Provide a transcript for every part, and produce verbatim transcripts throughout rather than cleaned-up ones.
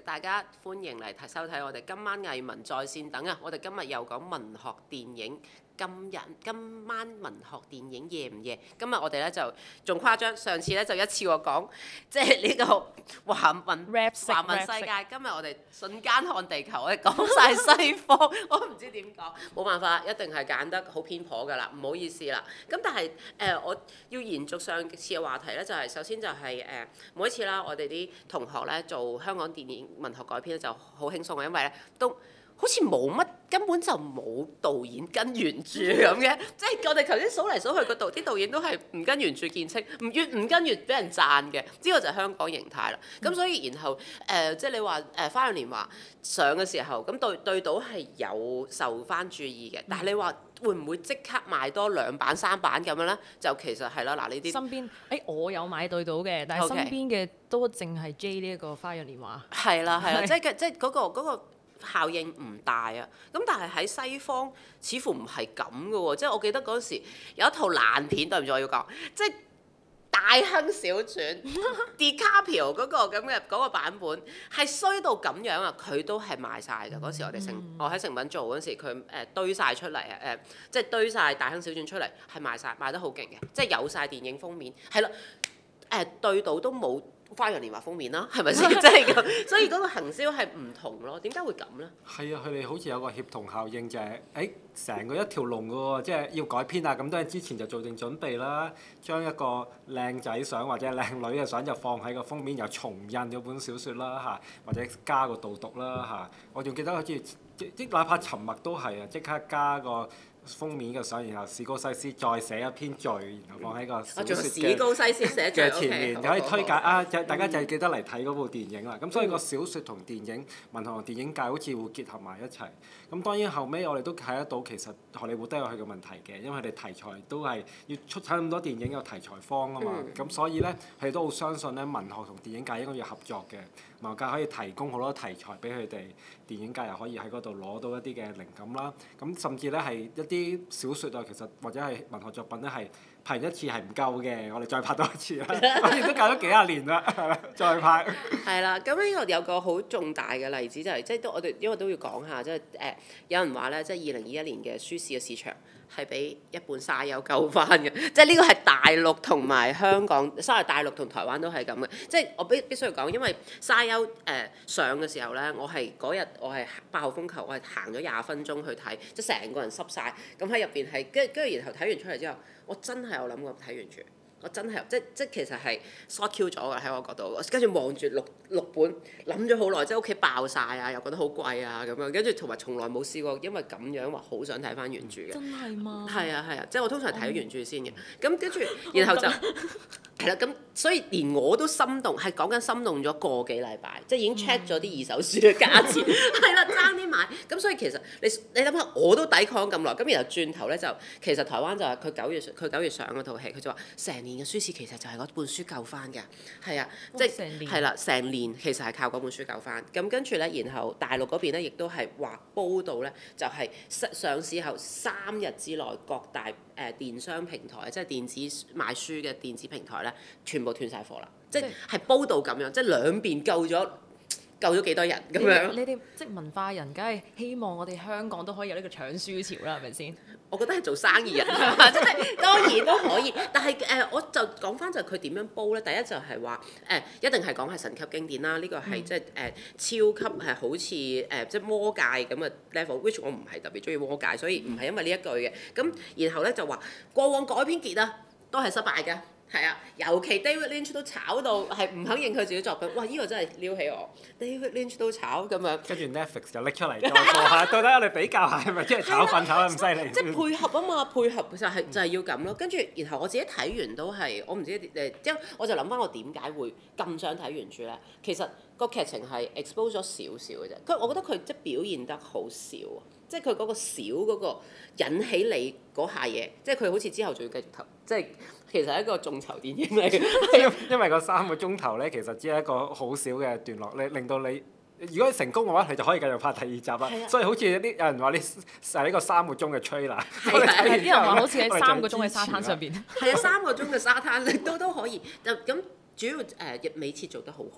大家歡迎嚟睇收睇我哋今晚藝文在線等啊！我哋今日又講文學電影。今日今晚文學電影夜唔夜？今日我哋咧就仲誇張，上次咧就一次過講，即係呢個華文華文世界。今日我哋瞬間看地球，我哋講晒西方，我唔知點講，冇辦法，一定係揀得好偏頗㗎啦，唔好意思啦。咁但係誒、呃，我要延續上次嘅話題咧，就係、是、首先就係、是、誒、呃、每一次啦，我哋啲同學咧做香港電影文學改編咧就好輕鬆嘅，因為咧都。好似冇乜，根本就冇導演跟原著咁嘅，即係我哋頭先數嚟數去個導，啲導演都係唔跟原著見稱，唔越唔跟越俾人讚嘅，呢個就係香港形態啦。咁、嗯、所以然後誒、呃，即係你話誒《花樣年華》上嘅時候，咁對對到係有受翻注意嘅，但係你話會唔會即刻賣多兩版三版咁樣咧？就其實係啦，嗱呢啲身邊誒、欸、我有買對到嘅，但係身邊嘅都淨係 J 呢一個《花樣年華》。係啦係啦，即係即係嗰個嗰個。嗰個效應唔大啊，咁但係喺西方似乎唔係咁嘅喎，即係我記得嗰時有一套爛片，對唔住我要講，即係《大亨小傳》DiCaprio 嗰個咁嘅嗰個版本係衰到咁樣啊，佢都係賣晒㗎。嗰時我哋成、嗯、我喺成品做嗰時，佢誒、呃、堆晒出嚟啊，誒即係堆晒《大亨小傳》出嚟，係賣晒，賣得好勁嘅，即係有晒電影封面，係啦，誒、呃、對到都冇。花樣年華封面啦，係咪先？即係咁，所以嗰個行銷係唔同咯。點解會咁咧？ 係啊，佢哋好似有個協同效應，就係誒成個一條龍嘅喎，即係要改編啊，咁都係之前就做定準備啦，將一個靚仔相或者靚女嘅相就放喺個封面，又重印嗰本小説啦嚇，或者加個導讀啦嚇。我仲記得好似即即哪怕沉默都係啊，即刻加個封面嘅相，然後史高西斯再寫一篇序，然後放喺個小説嘅、 史高西斯寫嘅前面，就可以推介啊！ 嗯、 大家就係記得嚟睇嗰部電影啦。咁、嗯、所以個小説同電影、文學同電影界好似會結合埋一齊。咁當然後尾我哋都睇得到，其實荷里活都有佢嘅問題嘅，因為佢哋題材都係要出產咁多電影有題材荒啊嘛。咁、嗯、所以咧，佢哋都好相信咧，文學同電影界應該要合作嘅。文學界可以提供好多題材俾佢哋，電影界又可以喺嗰度攞到一啲嘅靈感啦。咁甚至咧係一啲小説啊，其實或者係文學作品咧係拍完一次係唔夠嘅，我哋再拍多一次啦。我哋都搞咗幾廿年啦，係啦，再拍。係啦，咁呢個有個好重大嘅例子就係、是，即係都我哋因為都要講下，即係誒有人話咧，即係二零二一年嘅書市嘅市場係俾一本沙丘救翻嘅，即係呢個係大陸同埋香港，sorry 大陸同台灣都係咁嘅。即係我必必須要講，因為沙丘誒、呃、上嘅時候咧，我係嗰日我係八號風球，我係行咗廿分鐘去睇，即係成個人濕晒。咁喺入邊係跟跟住然後睇完出嚟之後，我真係有諗過睇完住。我真係即即其實係 short Q 咗㗎喺我角度，跟住望住六六本諗咗好耐，即係屋企爆晒啊，又覺得好貴啊咁樣，跟住同埋從來冇試過因為咁樣話好想睇翻原著嘅。 真係嗎？ 係啊係啊，即係我通常睇原著先嘅，咁跟住然後就係啦，咁所以連我都心動，係講緊心動咗個幾禮拜，即係已經 check 咗啲二手書嘅價錢，係啦爭啲買，咁所以其實你你諗下，我都抵抗咁耐，咁然後轉頭咧就其實台灣就係佢九月佢九月上嗰套戲，佢就話成年嘅書市其實就係嗰本書救翻㗎，係啊，即係係啦，成年其實係靠嗰本書救翻。咁跟住咧，然後大陸嗰邊咧亦都係話報道咧，就係、是、上市後三日之內各大誒、呃、電商平台，即係電子賣書嘅電子平台咧，全部斷晒貨啦，即係係報道咁樣，即係兩邊救咗。救咗幾多人咁樣？ 你哋即係文化人，梗係希望我哋香港都可以有呢個搶書潮啦，係咪先？ 我覺得係做生意人，即係當然都可以。但係誒、呃，我就講翻就佢點樣煲咧？第一就係話誒，一定係講係神級經典啦。呢、這個係、嗯、即係誒、呃、超級係好似誒、呃、即係魔戒咁嘅 level，which 我唔係特別中意魔戒，所以唔係因為呢一句嘅。咁然後咧就話過往改編傑啊，都係失敗嘅。係啊，尤其 David Lynch 都炒到係唔肯認佢自己作品，哇！呢、這個真係撩起我。David Lynch 都炒咁樣， 跟住 Netflix 就拎出嚟再播下，到底我哋比較下係咪真係炒粉炒得咁犀利？ 即係配合啊嘛，配合就係、是、就係、是、要咁咯。跟住然後我自己睇完都係，我唔知誒，即係我就諗翻我點解會咁想睇原著咧？其實個劇情係 expose 咗少少嘅啫。佢我覺得佢即係表現得好少啊，即係佢嗰個少嗰個引起你嗰下嘢，即係佢好似之後仲要繼續投，即係。其實係一個眾籌電影嚟嘅， 因因為個三個鐘頭咧，其實只係一個好少嘅段落，你令到你如果成功嘅話，佢就可以繼續拍第二集啦。啊、所以好似啲有人話你係呢個三個鐘嘅 trailer， 啲人話好似喺三個鐘嘅沙灘上邊。 係啊，三個鐘嘅沙灘都都可以。就咁主要誒，美設做得好好。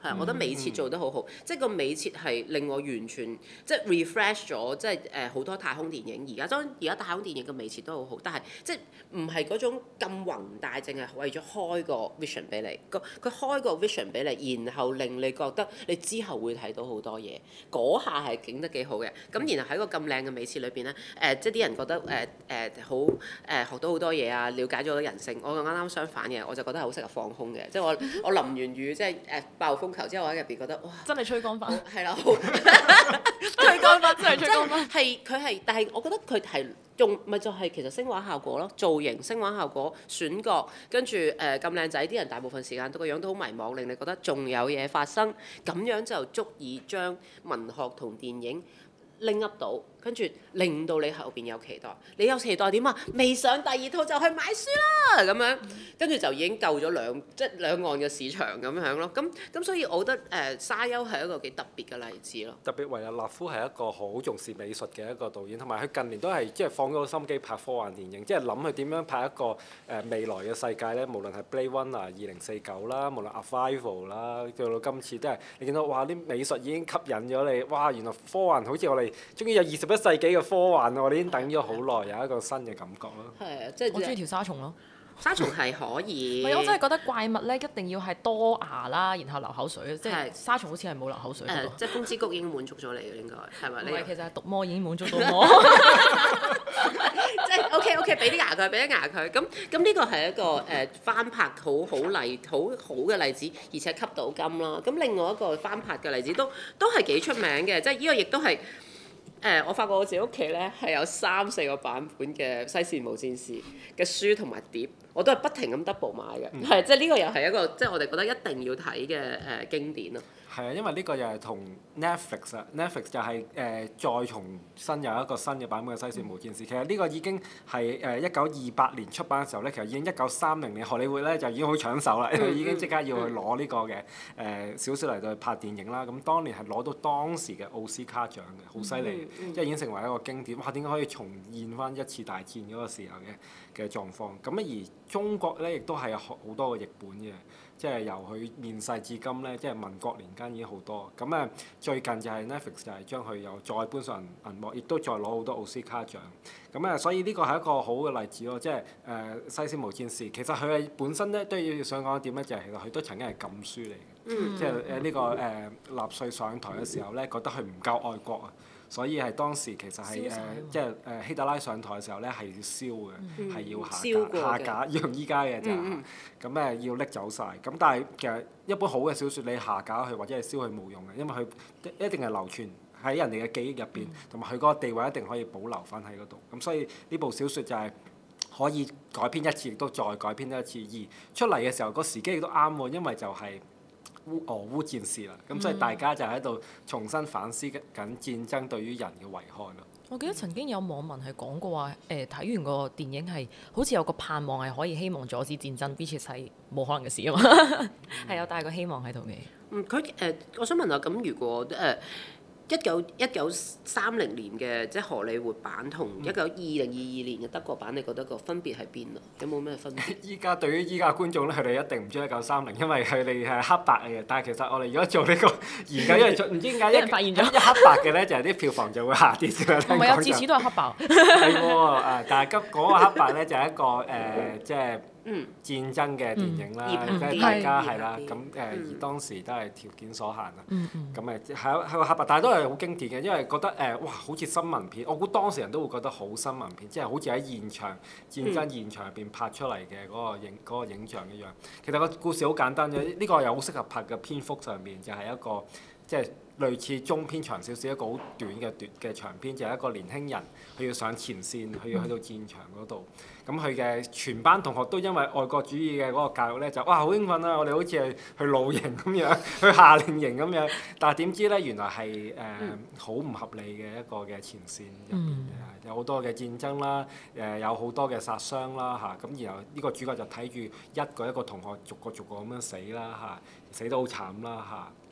係啊，我覺得美設做得好好，即係個美設係令我完全即係 refresh 咗，即係誒好多太空電影。而家當然而家太空電影嘅美設都好好，但係即係唔係嗰種咁宏大，淨係為咗開個 vision 俾你。個佢開個 vision 俾你，然後令你覺得你之後會睇到好多嘢。嗰下係景得幾好嘅。咁然後喺個咁靚嘅美設裏邊咧，誒、呃、即係啲人覺得誒誒好誒學到好多嘢啊，了解咗人性。我啱啱相反嘅，我就覺得係好適合放空嘅。即係我我淋完雨，即係誒暴風球之後，我喺入邊覺得哇， 真係吹乾翻， 係啦， 吹乾翻真係吹乾翻。 係佢係，但係我覺得佢係用咪就係其實聲畫效果咯，造型、聲畫效果、選角，跟住誒咁靚仔，啲人大部分時間都個樣都好迷茫，令你覺得仲有嘢發生，咁樣就足以將文學同電影拎 up 到，跟住令到你後邊有期待。你有期待點啊？未上第二套就去買書啦，咁樣跟住就已經救咗兩即係兩岸嘅市場咁樣咯。咁咁所以我覺得誒、呃、沙丘係一個幾特別嘅例子咯。 特別維也納夫係一個好重視美術嘅一個導演，同埋佢近年都係即係放咗個心機拍科幻電影，即係諗佢點樣拍一個誒、呃、未來嘅世界咧。無論係 Blade Runner 二零四九啦，無論 Arrival 啦，到到今次都係你見到哇啲美術已經吸引咗你，哇原來科幻好似我哋終於有二十一世紀嘅科幻，我哋已經等咗好耐，有一個新嘅感覺咯。 係啊，即係我中意條沙蟲咯。 沙蟲係可以。 唔係，我真係覺得怪物咧一定要係多牙啦，然後流口水，即係係沙蟲好似係冇流口水嗰誒， 個。 即係風之谷已經滿足咗你嘅應該係咪？你唔係，其實係毒魔已經滿足到我。 即係 OK OK，俾啲牙佢，俾啲牙佢。咁咁呢個係一個誒、呃、翻拍好好例好好嘅例子，而且吸到金啦。咁另外一個翻拍嘅例子都都係幾出名嘅，即係呢個亦都係。誒、呃，我發覺我自己屋企咧係有三四個版本嘅《西線無戰事》嘅書同埋碟，我都係不停咁 double 買嘅，係、嗯、即係呢個又係一個即係我哋覺得一定要睇嘅誒經典咯。係啊，因為呢個又係同 Netflix 啊，Netflix 就係、是、誒、呃、再重新有一個新嘅版本嘅《西線無戰事》。其實呢個已經係誒一九二八年出版嘅時候咧，其實已經一九三零年荷里活咧就已經好搶手啦，因為已經即刻要去攞呢個嘅誒小説嚟到去拍電影啦。咁當年係攞到當時嘅奧斯卡獎嘅，好犀利，嗯嗯、即係已經成為一個經典。哇！點解可以重現翻一次大戰嗰個時候嘅嘅狀況？咁而中國咧亦都係有好多個譯本嘅。即係由佢面世至今咧，即係民國年間已經好多。咁誒最近就係 Netflix 就係將佢又再搬上銀幕，亦都再攞好多奧斯卡獎。咁誒，所以呢個係一個好嘅例子咯。即係誒、呃《西線無戰事》，其實佢係本身咧都要想講一點咧，就係其實佢都曾經係禁書嚟嘅。嗯、即係誒呢個誒、呃、納粹上台嘅時候咧，覺得佢唔夠愛國啊。所以係當時其實係誒、呃，即係誒、呃、希特拉上台嘅時候咧，係要燒嘅，係、嗯、要下架，下架要用依家嘅就係，咁誒、嗯、要拎走晒。咁但係其實一本好嘅小説，你下架佢或者係燒佢冇用嘅，因為佢一定係流傳喺人哋嘅記憶入邊，同埋佢嗰個地位一定可以保留翻喺嗰度。咁所以呢部小説就係可以改編一次，亦都再改編一次。而出嚟嘅時候，個時機亦都啱喎，因為就係、是。烏俄烏戰事啦，咁所以大家就喺度重新反思緊戰爭對於人嘅危害咯。 我記得曾經有網民係講過話，誒、呃、睇完個電影係好似有個盼望係可以希望阻止戰爭，which is 係冇可能嘅事啊嘛，係有帶個希望喺度嘅。 嗯，佢誒、呃，我想問下，咁如果誒？呃一九一九三零年嘅即係荷里活版同一九二零二二年嘅德國版，你覺得個分別喺邊啊？有冇咩分別？ 依家對於依家嘅觀眾咧，佢哋一定唔中意一九三零，因為佢哋係黑白嘅。但係其實我哋如果做呢個研究，因為唔知點解一發現咗一黑白嘅咧，就係啲票房就會下跌㗎。 唔係啊，次次都係黑白。 係喎，誒，但係今嗰個黑白咧就係一個誒，即係。嗯，戰爭嘅電影啦，即係、嗯、大家係啦，咁誒、嗯、而當時都係條件所限啊，咁誒係係個黑白，但係都係好經典嘅，因為覺得誒、呃、哇好似新聞片，我估當時人都會覺得好新聞片，即係好似喺現場戰爭現場入邊拍出嚟嘅嗰個影嗰個影像一樣。其實個故事好簡單嘅，呢、這個又好適合拍嘅篇幅上面就係一個即係。類似中篇長少少一個好短嘅短嘅長篇，就係、是、一個年輕人佢要上前線，佢要去到戰場嗰度。咁佢嘅全班同學都因為愛國主義嘅嗰個教育咧，就哇好興奮啊！我哋好似係去露營咁樣，去夏令營咁樣。但係點知咧，原來係誒好唔合理嘅一個嘅前線入邊，嗯、有好多嘅戰爭啦，誒、呃、有好多嘅殺傷啦嚇。咁、啊、然後呢個主角就睇住一個一個同學逐個逐個咁樣死啦嚇、啊，死得好慘啦嚇。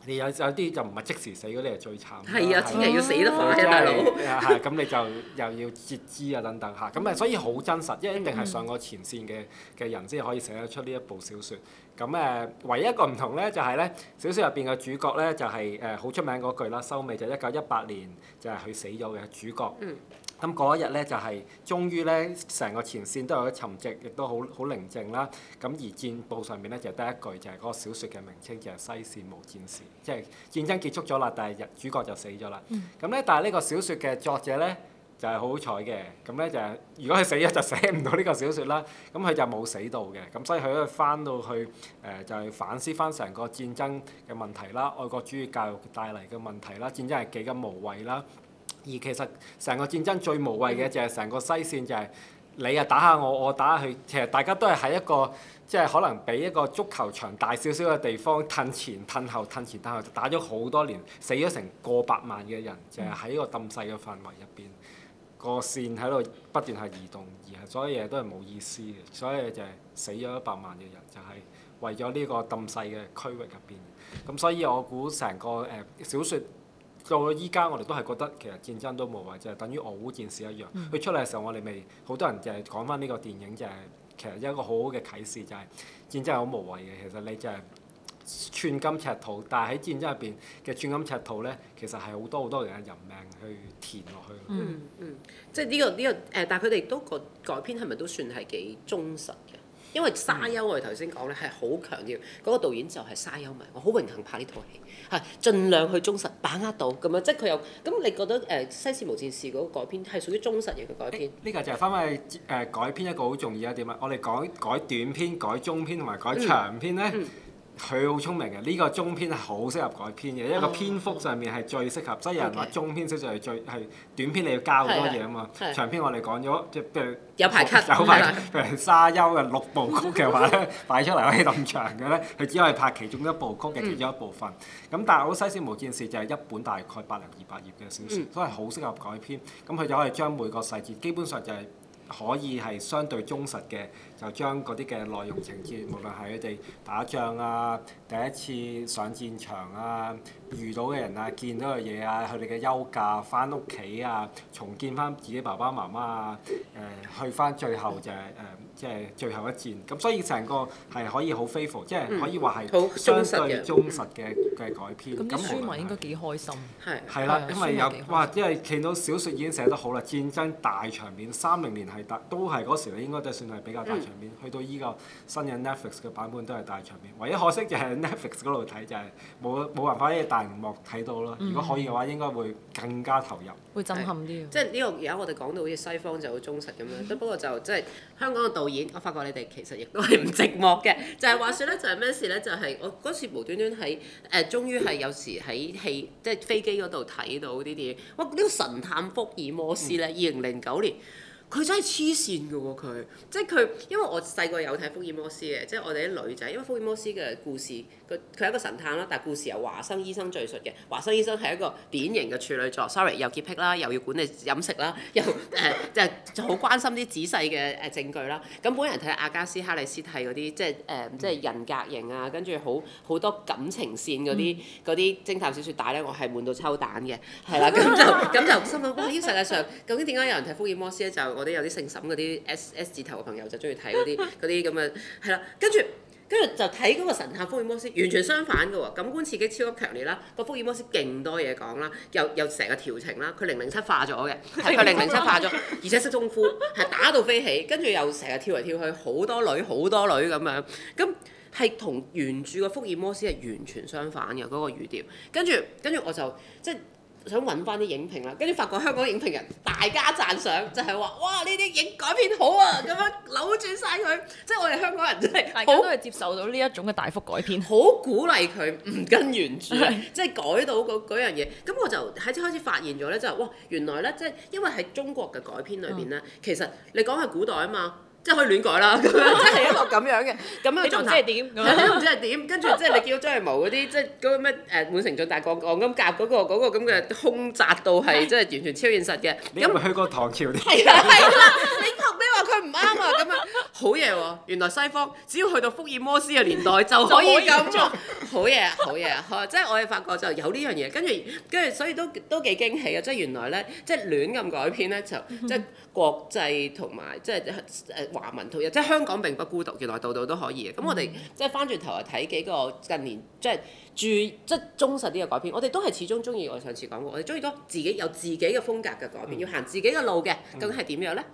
你有有啲就唔係即時死嗰啲係最慘。 係啊，千祈要死得快係啊，大佬。 係咁你就又要截肢啊等等嚇，咁啊所以好真實，因為一定係上過前線嘅嘅人先可以寫得出呢一部小説。咁誒，唯一一個唔同咧就係咧，小説入邊嘅主角咧就係誒好出名嗰句啦，收尾就一九一八年就係佢死咗嘅主角。 嗯咁嗰一日咧就係、是、終於咧成個前線都有咗沉寂，亦都好好寧靜啦。咁而戰報上面咧就得一句就係、是、嗰個小説嘅名稱就係、是、西線無戰事，即係戰爭結束咗啦，但係主角就死咗啦。咁咧、嗯，但係呢個小説嘅作者咧就係好好彩嘅，咁咧就係、是、如果佢死咗就寫唔到呢個小説啦。咁佢就冇死到嘅，咁所以佢咧翻到去誒、呃、就係、是、反思翻成個戰爭嘅問題啦，愛國主義教育帶嚟嘅問題啦，戰爭係幾咁無謂啦。而其實成個戰爭最無謂嘅就係成個西線就係你啊打下我，我打下佢，其實大家都係喺一個即係可能比一個足球場大少少嘅地方褪前褪後褪前褪後打咗好多年，死咗成過百萬嘅人，就係喺個咁細嘅範圍入邊，個線喺度不斷係移動，而係所有嘢都係冇意思嘅，所有嘢就係死咗一百萬嘅人，就係為咗呢個咁細嘅區域入邊。咁所以我估成個誒小説。到咗依家，我哋都係覺得其實戰爭都無謂，就係、是、等於俄烏戰事一樣。佢、嗯、出嚟嘅時候，我哋未好多人就係講翻呢個電影，就係、是、其實一個好好嘅啟示，就係、是、戰爭係好無謂嘅。其實你就係寸金尺土，但係喺戰爭入邊嘅寸金尺土咧，其實係好多好多人嘅人命去填落去。 嗯嗯，即係呢、這個呢、這個誒、呃，但係佢哋都個改編係咪都算係幾忠實嘅？因為沙丘我哋頭先講咧係好強調嗰、那個導演就係沙丘迷，我好榮幸拍呢套戲，係盡量去忠實把握到咁樣，即係佢有咁你覺得誒、呃《西線無戰事》嗰個改編係屬於忠實型嘅改編？呢個就係翻去誒改編一個好重要一點啊！我哋改改短篇、改中篇同埋改長篇咧。嗯嗯佢好聰明嘅，呢、這個中篇係好適合改編嘅，因為個篇幅上面係最適合。所以有人話中篇小説係最係短篇，你要加好多嘢啊嘛。長篇我哋講咗，即係譬如有排 cut， 有排譬如沙丘嘅六部曲嘅話咧，擺出嚟可以咁長嘅咧，佢只可以拍其中一部曲嘅其中一部分。咁、嗯、但係好《西線無戰事》就係一本大概百零二百頁嘅小説，嗯、所以好適合改編。咁佢就可以將每個細節基本上就係、是。可以係相對忠實嘅，就將嗰啲嘅內容情節，無論係佢哋打仗啊、第一次上戰場啊、遇到嘅人啊、見到嘅嘢啊、佢哋嘅休假、翻屋企啊、重建翻自己爸爸媽媽啊、誒、呃、去翻最後就係、是、誒。呃即係最後一戰，咁所以成個係可以好 faithful，即係可以話係相對忠實嘅嘅改編。 咁啲書迷應該幾開心。 係。係啦，因為有哇，因為見到小説已經寫得好啦，戰爭大場面，三零年係大都係嗰時應該都算係比較大場面。嗯、去到依個新嘅 Netflix 嘅版本都係大場面，唯一可惜就係 Netflix 嗰度睇就係冇冇辦法喺大熒幕睇到咯。如果可以嘅話，應該會更加投入。 會震撼啲。 即係呢個而家我哋講到好似西方就好忠實咁樣，不過就即係香港嘅導演，我發覺你哋其實亦都係唔寂寞嘅。就係、是、話説咧，就係咩事咧？就係、是、我嗰次無端端喺誒、呃，終於係有時喺戲即係飛機嗰度睇到啲電影。哇！呢、這個神探福爾摩斯咧，二零零九年。佢真係黐線㗎喎！佢即係佢，因為我細個有睇福爾摩斯嘅，即係我哋啲女仔，因為福爾摩斯嘅故事，佢佢係一個神探啦，但係故事由華生醫生敘述嘅。華生醫生係一個典型嘅處女座 ，sorry， 又潔癖啦，又要管理飲食啦，又誒即係就好關心啲仔細嘅誒證據啦。咁本人睇阿加斯哈里斯蒂嗰啲，即係誒、呃、即係人格型啊，跟住好好多感情線嗰啲嗰啲偵探小説帶咧，我係悶到抽蛋嘅，係啦，咁就咁就心諗哇！呢個世界上究竟點解有人睇福爾摩斯咧？就我哋有啲姓沈嗰啲 S S 字頭嘅朋友就中意睇嗰啲嗰啲咁嘅係啦，跟住跟住就睇嗰個神探福爾摩斯，完全相反嘅喎，感官刺激超級強烈啦，個福爾摩斯勁多嘢講啦，又又成個調情啦，佢零零七化咗嘅，係佢零零七化咗，而且識功夫，係打到飛起，跟住又成日跳嚟跳去，好多女好多女咁樣，咁係同原著嘅福爾摩斯係完全相反嘅嗰、嗰個語調，跟住跟住我就即係。想揾翻啲影評啦，跟住發覺香港影評人大加讚賞，就係、是、話哇呢啲影改編好啊，咁樣扭轉晒佢，即係我哋香港人真係大家都係接受到呢一種嘅大幅改編， 好鼓勵佢唔跟原著，即係改到嗰嗰樣嘢。咁我就喺開始發現咗咧，就係哇原來咧，即係因為喺中國嘅改編裏邊咧，嗯、其實你講係古代啊嘛。即係可以亂改啦，咁樣即係一個咁樣嘅咁樣嘅狀態。你都唔知係點，你都唔知係點。跟住即係你見到張藝謀嗰啲，即係嗰個咩誒滿城盡帶黃黃金甲嗰個嗰個咁嘅空擲到係，即係完全超現實嘅。 你有冇去過唐朝啲？ 係啦係啦，你學你話佢唔啱啊咁樣，好嘢喎！原來西方只要去到福爾摩斯嘅年代就可以咁做，好嘢啊，好嘢啊！即係我哋發覺就有呢樣嘢，跟住跟住所以都都幾驚喜啊！即係原來咧，即係亂咁改編咧，就即係國際同埋即係誒華文套，即係香港並不孤獨，原來度度都可以嘅。咁我哋即係翻轉頭嚟睇幾個近年即係注即係忠實啲嘅改編，我哋都係始終中意。我上次講過，我哋中意多自己有自己嘅風格嘅改編，要行自己嘅路嘅，究竟係點樣咧？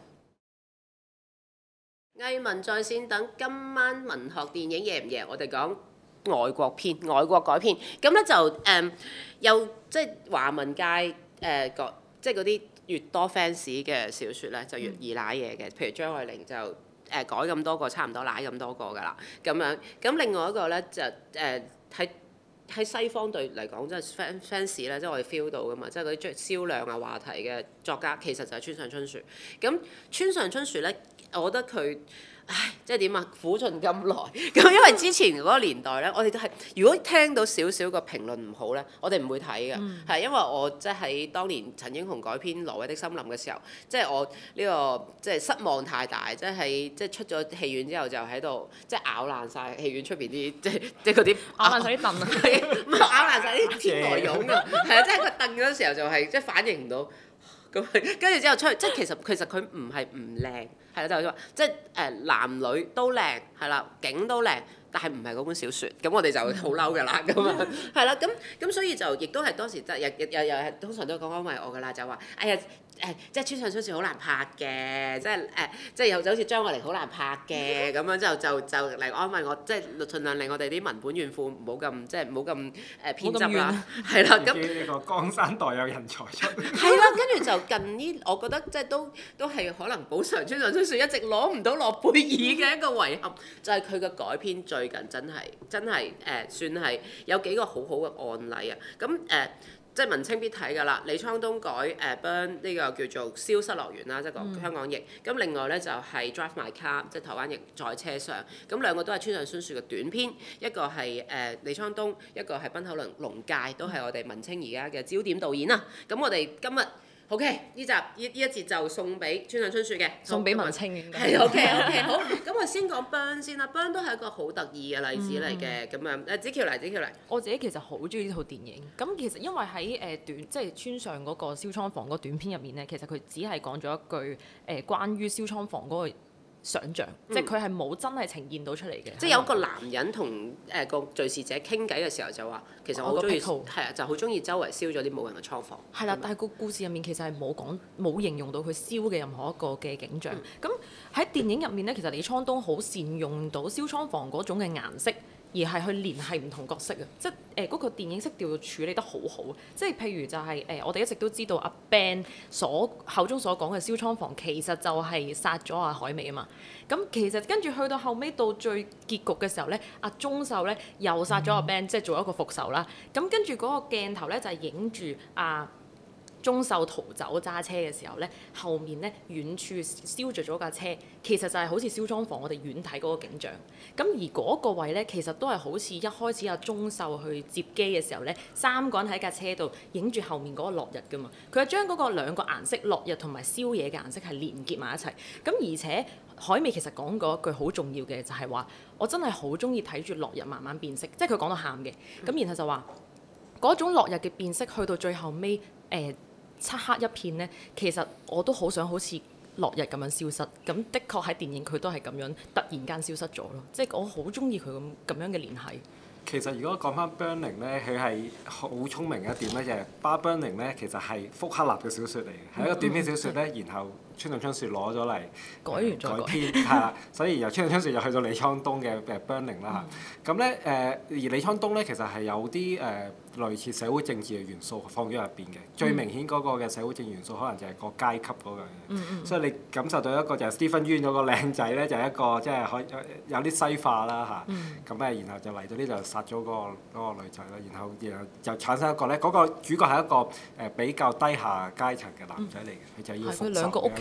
藝文在線等今晚文學電影夜唔夜？我哋講外國片、外國改編，咁咧就誒、嗯、有即係華文界誒個、呃、即係嗰啲越多 fans 嘅小説咧，就越易賴嘢嘅。譬如張愛玲就誒、呃、改咁多個，差唔多賴咁多個㗎啦，咁樣。咁另外一個咧就誒喺喺西方對嚟講，即係 fans fans 咧，即係我哋 feel 到㗎嘛，即係嗰啲追銷量啊話題嘅作家，其實就係村上春樹。咁村上春樹咧。我覺得佢，唉，即係點啊？苦盡甘來咁，因為之前嗰個年代咧，我哋都係如果聽到少少個評論唔好咧，我哋唔會睇嘅，係、嗯、因為我即係喺當年陳英雄改編《挪威的森林》嘅時候，即係我呢、呢個即係失望太大，即係即係出咗戲院之後就喺度即係咬爛晒戲院出邊啲即係即係嗰啲咬爛晒啲凳啊， 唔係咬爛晒啲天鵝絨啊，係啊，即係個凳嗰時候就係即係反應唔到。咁跟住之後出去，即係其實其實佢唔係唔靚，係啦，就係話即係誒男女都靚，係啦，景都靚，但係唔係嗰本小説，咁我哋就好嬲㗎啦，咁啊，係啦，咁咁所以就亦都係當時即係又又又係通常都講安慰我㗎啦，就話哎呀誒，即係村上春樹好難拍嘅，即係誒，即係又就好似張愛玲好難拍嘅，咁樣就就就嚟安慰我，即係盡量令我哋啲文本怨婦唔好咁即係唔好咁誒偏執啦，係啦，咁呢個江山代有人才出， 係啦，跟住就近呢，我覺得即係都都係可能補償村上春樹一直攞唔到諾貝爾嘅一個遺憾，就係佢嘅改編最近真係真係誒、呃、算係有幾個好好嘅案例啊，咁誒。呃即係文青必睇㗎啦，李滄東改誒 Burn 呢個叫做消失樂園啦，即係個香港譯。咁、嗯、另外咧就係、是、Drive My Car，即係台灣譯在車上。咁兩個都係村上春樹嘅短篇，一個係誒、呃、李滄東，一個係濱口龍龍介，都係我哋文青而家嘅焦點導演啦。咁我哋今日 OK 呢集呢呢一節就送俾村上春樹嘅， 送俾文青嘅。 係 OK OK 好，咁我先講 Burn 先啦 ，Burn 都係一個好得意嘅例子嚟嘅，咁、嗯、樣誒子喬嚟，子喬嚟。 我自己其實好中意呢套電影，咁其實因為喺誒、呃、短即係村上嗰個燒倉房嗰短片入面咧，其實佢只係講咗一句誒、呃、關於燒倉房嗰個想像，嗯、即係佢係冇真係呈現到出嚟嘅。 即係有個男人同誒個敘事者傾偈嘅時候就話，其實我好中意，係啊，就好中意周圍燒咗啲冇人嘅倉房。係啦， 但係個故事入面其實係冇講冇形容到佢燒嘅任何一個嘅景象。咁喺、嗯、電影入面咧，其實李滄東好善用到燒倉房嗰種嘅顏色。而係去聯繫唔同角色啊，即係誒嗰個電影色調處理得好好，即係譬如就係、是、誒、呃、我哋一直都知道阿 Ben 所口中所講嘅燒倉房其實就係殺咗阿海美啊嘛，咁其實跟住去到後尾到最結局嘅時候咧，阿鐘秀咧又殺咗阿 Ben，、嗯、即係做一個復仇啦，咁跟住嗰個鏡頭咧就係影住阿鐘秀逃走揸車嘅時候咧，後面咧遠處燒着咗架車，其實就係好似燒倉房我哋遠睇嗰個景象。咁而嗰個位咧，其實都係好似一開始阿鐘秀去接機嘅時候咧，三個人喺架車度影住後面嗰個落日噶嘛。佢係將嗰個兩個顏色落日同埋燒嘢嘅顏色係連結埋一齊。咁而且海美其實講過一句好重要嘅就係話，我真係好中意睇住落日慢慢變色，即係佢講到喊嘅。咁然後就話嗰種落日嘅變色去到最後尾誒。呃漆黑一片咧，其實我都好想好似落日咁樣消失。咁的確喺電影佢都係咁樣突然間消失咗咯。即係我好中意佢咁咁樣嘅聯繫。 其實如果講翻 Burning 咧，佢係好聰明嘅一點咧，就係《巴 Burning》咧，其實係福克納嘅小説嚟嘅，係、嗯、一個短篇小説咧，然後村上春樹攞咗嚟改完再改， 改編，係啦，所以由村上春樹又去到李滄東嘅誒 Burning 啦嚇。咁咧誒，而李滄東咧其實係有啲誒、呃、類似社會政治嘅元素放咗入邊嘅。最明顯嗰個嘅社會政治元素可能就係個階級嗰樣嘢。嗯嗯、所以你感受到一個就係 Stephen Yeun 嗰個靚仔咧，就係、是、一個即係可有啲西化啦嚇。咁誒、嗯，然後就嚟到呢度殺咗嗰個嗰個女仔啦，然後然後就產生一個咧，嗰、那個主角係一個誒比較低下階層嘅男仔嚟嘅，佢、嗯、就要復仇嘅。係佢兩個屋企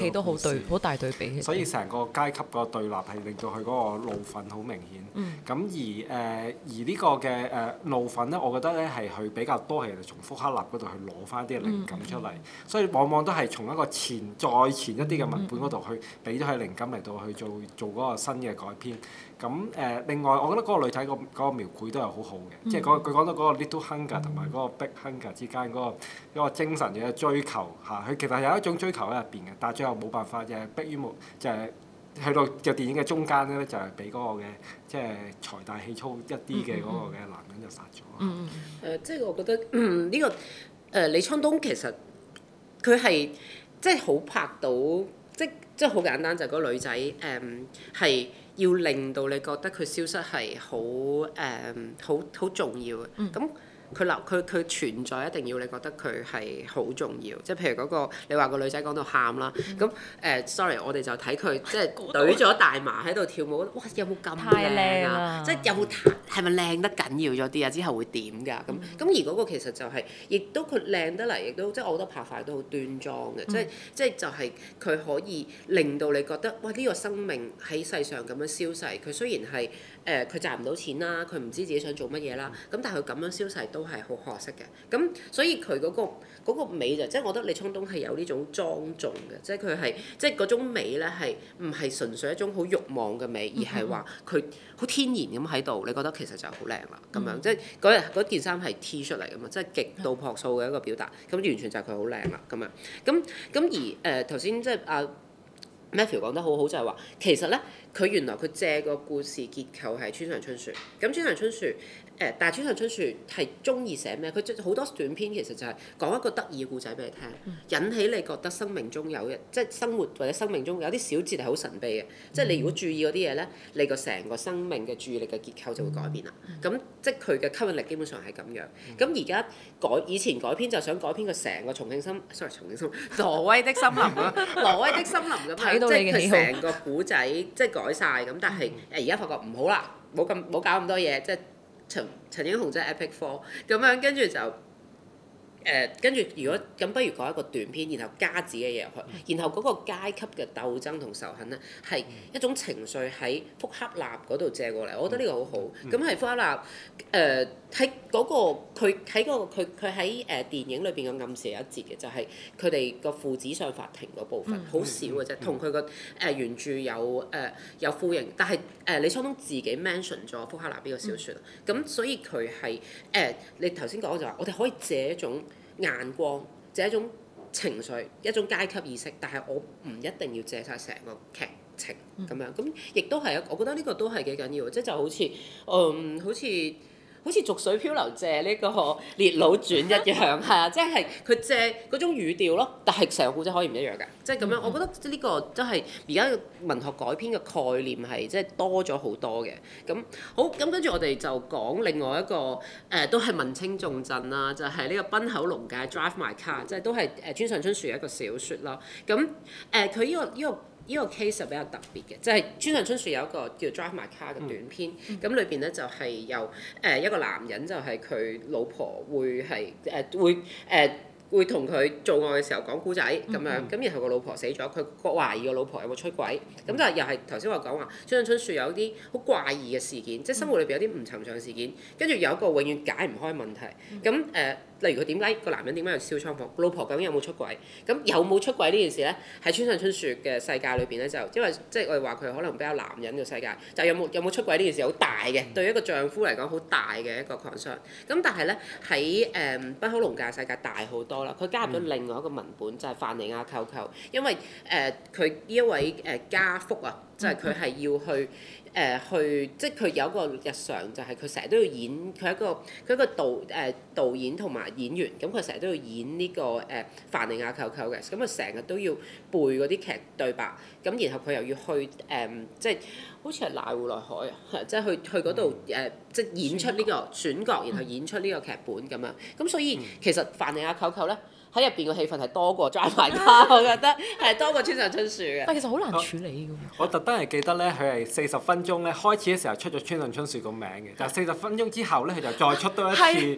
戲都好對，好大對比嘅。 所以成個階級個對立係令到佢嗰個怒憤好明顯。咁、嗯、而誒、呃、而呢個嘅誒、呃、怒憤咧，我覺得咧係佢比較多係從福克納嗰度去攞翻啲靈感出嚟，嗯、所以往往都係從一個前再前一啲嘅文本嗰度去俾咗佢靈感嚟到去做做嗰個新嘅改編。咁誒、呃、另外，我覺得嗰個女仔個嗰個描繪都係好好嘅，嗯、即係佢講到嗰個 little hunger 同埋嗰個 big hunger 之間嗰、嗰個嗰個精神嘅追求嚇，佢其實有一種追求喺入邊嘅，但係最後冇辦法，就係迫於無，就係、係、去到嘅電影嘅中間咧，就係俾嗰個嘅即係財大氣粗一啲嘅嗰個嘅男人就殺咗。 嗯嗯誒，即係我覺得呢、嗯呢個誒、呃、李滄東其實佢係即係好拍到，即即係好簡單就係、係、嗰個女仔誒係。嗯要令到你覺得佢消失係好誒好好重要嘅，咁佢留佢佢存在一定要你覺得佢係好重要，即係譬如嗰、嗰個你話個女仔講到喊啦，咁誒、呃、sorry 我哋就睇佢即係懟咗大麻喺度跳舞，哇有冇咁靚啊？即係有冇係咪靚得緊要咗啲啊？之後會點㗎？咁咁、嗯、而嗰個其實就係、係，亦都佢靚得嚟，亦都即係我覺得拍法都好端莊嘅，即係即係就係佢可以令到你覺得哇呢、呢個生命喺世上咁樣消逝，佢雖然係誒佢賺唔到錢啦，佢唔知自己想做乜嘢啦，咁但係佢咁樣消逝都係好可惜嘅。咁所以佢嗰、嗰個嗰個美就即係我覺得李滄東係有呢種莊重嘅，即係佢係即係嗰種美咧係唔係純粹一種好慾望嘅美，而係話佢好天然咁喺度，你覺得其實就好靚啦咁樣，即係嗰日嗰件衫係 T 出嚟㗎嘛，即係極度樸素嘅一個表達，咁完全就係佢好靚啦咁樣。咁咁而誒頭先即係阿 Matthew 講得好好就係話，其實咧佢原來佢借個故事結構係村上春樹，咁村上春樹。誒，但係村上春樹係中意寫咩？佢好多短篇其實就係講一個得意嘅故仔俾你聽，引起你覺得生命中有嘅，即係生活或者生命中有啲小節係好神秘嘅。即係你如果注意嗰啲嘢咧，你個成個生命嘅注意力嘅結構就會改變啦。咁即係佢嘅吸引力基本上係咁樣。咁而家改以前改編就想改編個成個重慶森，sorry 重慶森，挪威的森林啊，挪威的森林咁樣，即係佢成個古仔即係改晒咁。但係誒而家發覺唔好啦，冇咁冇搞咁多嘢，即係。陳陳英雄即係 Epic Four 咁樣，跟住就誒，跟、呃、住如果咁，不如改一個短篇，然後加自己嘅嘢入去，然後嗰個階級嘅鬥爭同仇恨咧，係一種情緒喺福克納嗰度借過嚟，我覺得呢個好好。咁係、嗯、福克納誒喺嗰個佢喺嗰個佢佢喺誒電影裏邊嘅暗示有一節嘅，就係佢哋個父子上法庭嗰部分，好、嗯、少嘅啫，同佢個誒原著有誒、呃、有呼應，但係誒、呃、李滄東自己 mention 咗福克納呢個小説，咁、嗯、所以佢係誒你頭先講就話，我哋可以借一種眼光，借一種情緒，一種階級意識，但係我唔一定要借晒成個劇情咁樣，咁亦都係一，我覺得呢個都係幾緊要，即係就好似嗯好似。好似《逐水漂流》借呢個《烈佬傳》一樣，係啊，即係佢借嗰種語調咯，但係成個故仔可以唔一樣嘅，即係咁樣。我覺得呢個真係而家文學改編嘅概念係即係多咗好多嘅。咁好，咁跟住我哋就講另外一個誒、呃，都係文青重鎮啦，就係、是、呢個濱口龍介《Drive My Car》，即係都係誒村上春樹嘅一個小説啦。咁誒佢呢個呢個。這個呢個 case 係比較特別嘅，就係、是、村上春樹有一個叫 Drive My Car 嘅短篇，咁裏邊咧就係、是、由誒、呃、一個男人就係佢老婆會係誒、呃、會誒。呃會同佢做愛嘅時候講古仔咁樣，咁、嗯、然後個老婆死咗，佢懷疑個老婆有冇出軌，咁、嗯、但係又係頭先我講話，村上春樹有啲好怪異嘅事件，即係生活裏邊有啲唔尋常嘅事件，跟住有一個永遠解唔開問題，咁誒、呃，例如佢點解個男人點解要燒倉房，老婆究竟有冇出軌，咁有冇出軌呢件事咧，喺村上春樹嘅世界裏邊咧就，因為即係我哋話佢可能比較男人嘅世界，就有冇有冇出軌呢件事好大嘅，對於一個丈夫嚟講好大嘅一個 concern，咁但係咧喺誒濱口龍介世界大好多。佢加入咗另外一個文本，就係、是、范尼亞舅舅，因為誒佢呢一位誒、呃、家福啊，就係佢係要去誒、呃、去，即係佢有一個日常，就係佢成日都要演，佢係一個佢一個導誒、呃、導演同埋演員，咁佢成日都要演呢、這個誒、呃、范尼亞舅舅嘅，咁佢成日都要背嗰啲劇對白，咁然後佢又要去誒、呃，即係好似係瀨戶內海啊，即係去去嗰度誒，即係演出呢、這個選角，然後演出呢個劇本咁樣，咁所以其實范尼亞舅舅咧。喺入邊嘅戲份係多過 Drive My Car，我覺得係多過村上春樹嘅。 但其實好難處理㗎。 我特登係記得咧，佢係四十分鐘咧，開始嘅時候出咗村上春樹個名嘅，但係四十分鐘之後咧，佢就再出多一次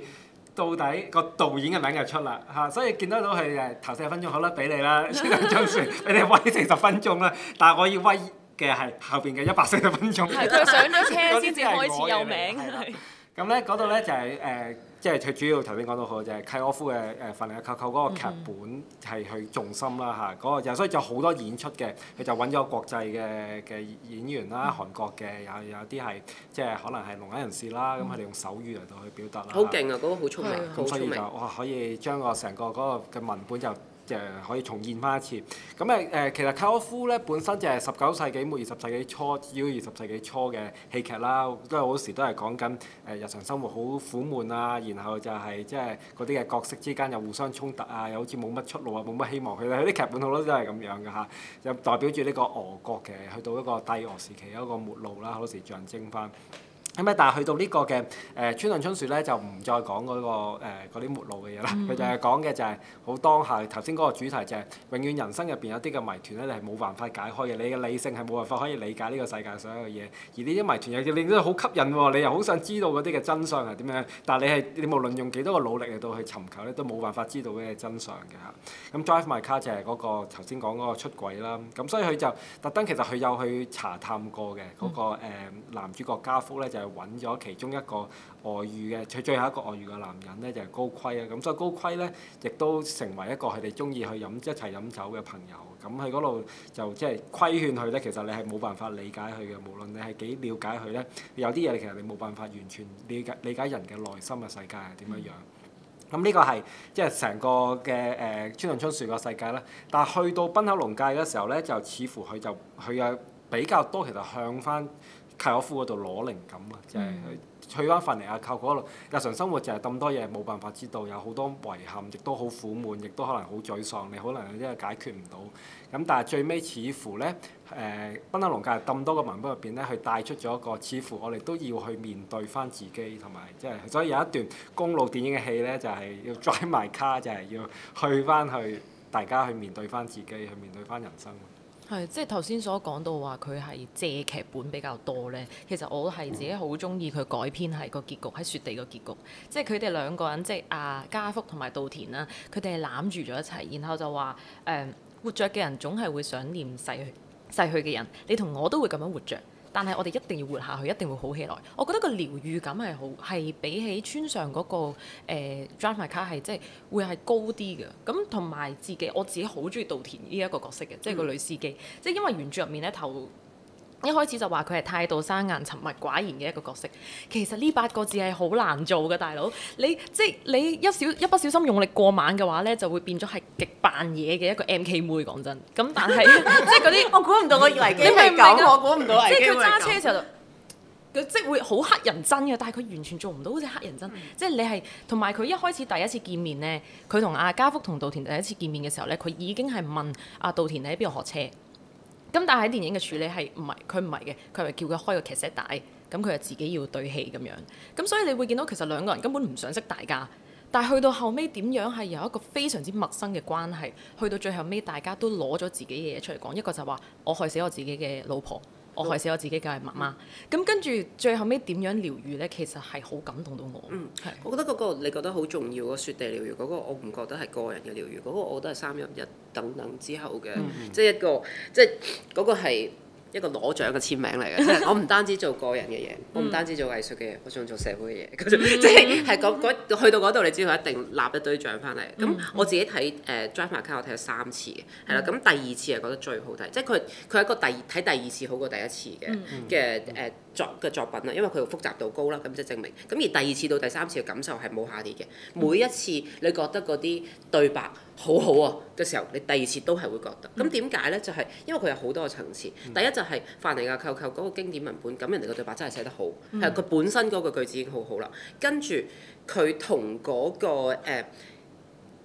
到底個導演嘅名就出啦嚇，所以見得到佢誒頭四十分鐘好啦，俾你啦，千兩張船俾你威四十分鐘啦，但係我要威嘅係後邊嘅一百四十分鐘。 係佢上咗車先至開始有名。 咁咧嗰度咧就係、是、誒。呃即係佢主要頭先講到好就係契訶夫嘅誒凡尼亞寇寇嗰個劇本係佢重心啦嚇，嗰、那個所以就好多演出嘅，佢就揾咗國際嘅嘅演員啦，韓國嘅有有啲係即係可能係聾啞人士啦，咁佢哋用手語嚟到去表達啦。 好勁啊！嗰、那個好聰明，好聰明。 咁所以就哇可以將個成個嗰個嘅文本就。誒可以重現翻一次，咁誒誒其實契訶夫咧本身就係十九世紀末二十世紀初，至於二十世紀初嘅戲劇啦，都係好多時都係講緊誒日常生活好苦悶啊，然後就係即係嗰啲嘅角色之間又互相衝突啊，又好似冇乜出路啊，冇乜希望。佢哋啲劇本好多都係咁樣嘅嚇，就代表住呢個俄國嘅去到一個帝俄時期一個末路啦，好多時象徵翻。咁咧，但係去到呢個嘅誒、呃《川上春樹》咧，就唔再講嗰、那個嗰啲、呃、末路嘅嘢啦。佢、嗯、就係講嘅就係好當下頭先嗰個主題就係永遠人生入邊有啲嘅謎團咧，你係冇辦法解開嘅。你嘅理性係冇辦法可以理解呢個世界所有嘅嘢，而呢啲謎團又令到好吸引喎，你又好想知道嗰啲嘅真相係點樣。但係你係你無論用幾多個努力嚟到去尋求咧，都冇辦法知道嘅真相嘅嚇。咁 Drive My Car 就係嗰、那個頭先講嗰個出軌啦。咁所以佢就特登其實佢有去查探過嘅嗰、那個、呃、男主角家福咧就。揾咗其中一個外遇嘅，佢最後一個外遇嘅男人咧就係、是、高規啊，咁所以高規咧亦都成為一個佢哋中意去飲一齊飲酒嘅朋友，咁喺嗰度就即係規勸佢咧，其實你係冇辦法理解佢嘅，無論你係幾了解佢咧，有啲嘢其實你冇辦法完全理解理解人嘅內心嘅世界係點樣樣。咁呢、嗯、個係即係成個嘅誒川上春樹個世界啦，但係去到濱口龍介嘅時候咧，就似乎佢就佢有比較多其實向翻契訶夫嗰度攞靈感啊，就係、是、去翻凡尼亞寇嗰度，日常生活就係咁多嘢冇辦法知道，有好多遺憾，亦都好苦悶，亦都可能好沮喪，你可能有啲嘢解決唔到。咁但係最尾似乎咧，誒濱口龍介咁多個文本入邊咧，佢帶出咗一個似乎我哋都要去面對翻自己，同埋即係所以有一段公路電影嘅戲咧，就係、是、要 drive my car，就係要去翻去大家去面對翻自己，去面對翻人生。 係，即係頭先所講到話佢係借劇本比較多咧。其實我係自己好中意佢改編係個結局喺雪地個結局，即係佢哋兩個人即係阿家福同埋稻田啦，佢哋係攬住咗一齊，然後就話誒、呃、活着嘅人總係會想念逝去逝去嘅人，你同我都會咁樣活着。但係我哋一定要活下去，一定會好起來。我覺得個療愈感係好，係比起村上嗰、那個誒、呃、Drive My Car 係即係會係高啲嘅。咁同埋自己，我自己好中意稻田呢一個角色嘅，即係個女司機。嗯、即係因為原著入面咧頭一開始就話佢係態度生硬、沉默寡言嘅一個角色。其實呢八個字係好難做嘅，大佬。你即係你一小一不小心用力過猛嘅話咧，就會變咗係極扮嘢嘅一個 M K 妹。講真，咁但係即係嗰啲我估唔到，我以為你係咁，我估唔到即係佢揸車嘅時候就佢即係會好黑人憎嘅，但係佢完全做唔到好似黑人憎。嗯、即係你係同埋佢一開始第一次見面咧，佢同阿家福同稻田第一次見面嘅時候咧，佢已經係問阿稻田你喺邊度學車。咁但係喺電影嘅處理係唔係佢唔係嘅，佢係叫佢開個劇 set 帶，咁佢就自己要對戲咁樣。咁所以你會見到其實兩個人根本唔想識大家，但係去到後尾點樣係由一個非常之陌生嘅關係，去到最後尾大家都攞咗自己嘅嘢出嚟講，一個就話我害死我自己嘅老婆，我害死我自己嘅媽媽。咁跟住最後尾點樣療愈呢？其實係好感動到我。嗯，係。我覺得嗰個你覺得好重要嗰雪地療愈嗰個，我唔覺得係個人嘅療愈，嗰個我覺得係三一一等等之後嘅，即係一個即係嗰個係一個攞獎嘅簽名嚟嘅。即係我唔單止做個人嘅嘢，我唔單止做藝術嘅嘢，我仲做社會嘅嘢。即係係嗰去到嗰度，你知道一定立一堆獎翻嚟。咁我自己睇誒 Drive My Car 我睇咗三次嘅，係啦。咁第二次係覺得最好睇，即係佢佢係一個第睇第二次好過第一次嘅嘅誒作嘅作品啦，因為佢複雜度高啦，咁即係證明。咁而第二次到第三次嘅感受係冇下跌嘅。每一次你覺得嗰啲對白好好啊嘅時候，你第二次都係會覺得。咁點解咧？就係、是、因為佢有好多個層次。第一就係凡尼亞寇寇嗰個經典文本，咁人哋個對白真係寫得好，係佢、嗯、本身嗰個句子已經好好啦。跟住佢同嗰個誒